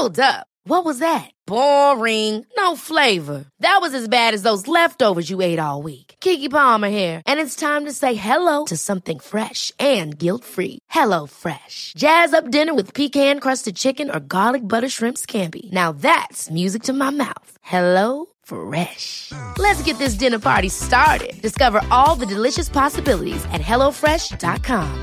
Hold up. What was that? Boring. No flavor. That was as bad as those leftovers you ate all week. Keke Palmer here. And it's time to say hello to something fresh and guilt-free. Hello Fresh. Jazz up dinner with pecan-crusted chicken or garlic butter shrimp scampi. Now that's music to my mouth. Hello Fresh. Let's get this dinner party started. Discover all the delicious possibilities at hellofresh.com.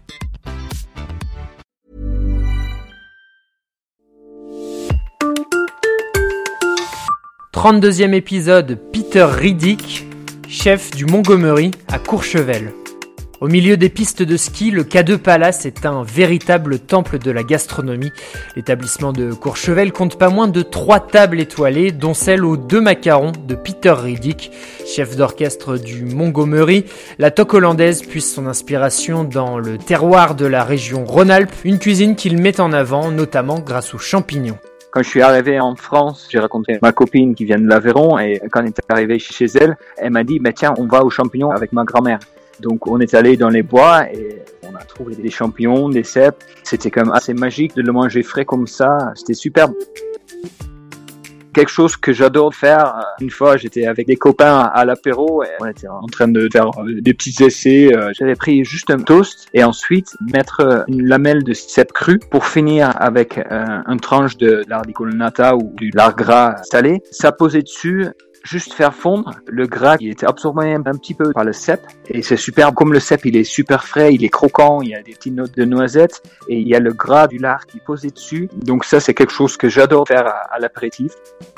32e épisode, Peter Riddick, chef du Montgomery à Courchevel. Au milieu des pistes de ski, le K2 Palace est un véritable temple de la gastronomie. L'établissement de Courchevel compte pas moins de 3 tables étoilées, dont celle aux 2 macarons de Peter Riddick, chef d'orchestre du Montgomery. La toque hollandaise puise son inspiration dans le terroir de la région Rhône-Alpes, une cuisine qu'il met en avant, notamment grâce aux champignons. Quand je suis arrivé en France, j'ai rencontré ma copine qui vient de l'Aveyron et quand on est arrivé chez elle, elle m'a dit tiens, on va aux champignons avec ma grand-mère. Donc on est allé dans les bois et on a trouvé des champignons, des cèpes. C'était quand même assez magique de le manger frais comme ça. C'était superbe. Quelque chose que j'adore faire. Une fois, j'étais avec des copains à l'apéro et on était en train de faire des petits essais. J'avais pris juste un toast et ensuite mettre une lamelle de cèpe cru pour finir avec une tranche de lard di colonnata ou du lard gras salé. Ça posait dessus. Juste faire fondre le gras qui était absorbé un petit peu par le cèpe et c'est superbe. Comme le cèpe il est super frais, il est croquant, il y a des petites notes de noisettes et il y a le gras du lard qui est posé dessus. Donc ça c'est quelque chose que j'adore faire à l'apéritif.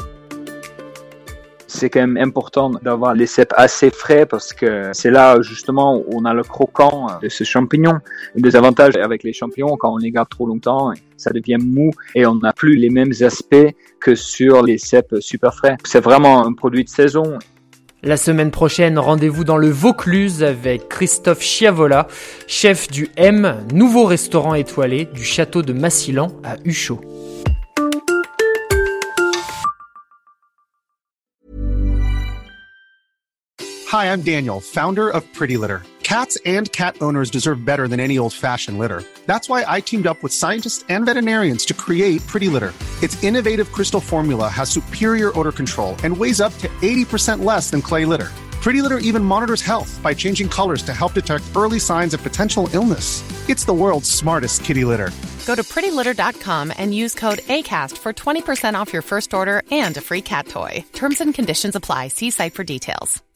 C'est quand même important d'avoir les cèpes assez frais parce que c'est là justement où on a le croquant de ce champignon. Le désavantage avec les champignons, quand on les garde trop longtemps, ça devient mou et on n'a plus les mêmes aspects que sur les cèpes super frais. C'est vraiment un produit de saison. La semaine prochaine, rendez-vous dans le Vaucluse avec Christophe Chiavola, chef du M, nouveau restaurant étoilé du château de Massilan à Huchot. Hi, I'm Daniel, founder of Pretty Litter. Cats and cat owners deserve better than any old-fashioned litter. That's why I teamed up with scientists and veterinarians to create Pretty Litter. Its innovative crystal formula has superior odor control and weighs up to 80% less than clay litter. Pretty Litter even monitors health by changing colors to help detect early signs of potential illness. It's the world's smartest kitty litter. Go to prettylitter.com and use code ACAST for 20% off your first order and a free cat toy. Terms and conditions apply. See site for details.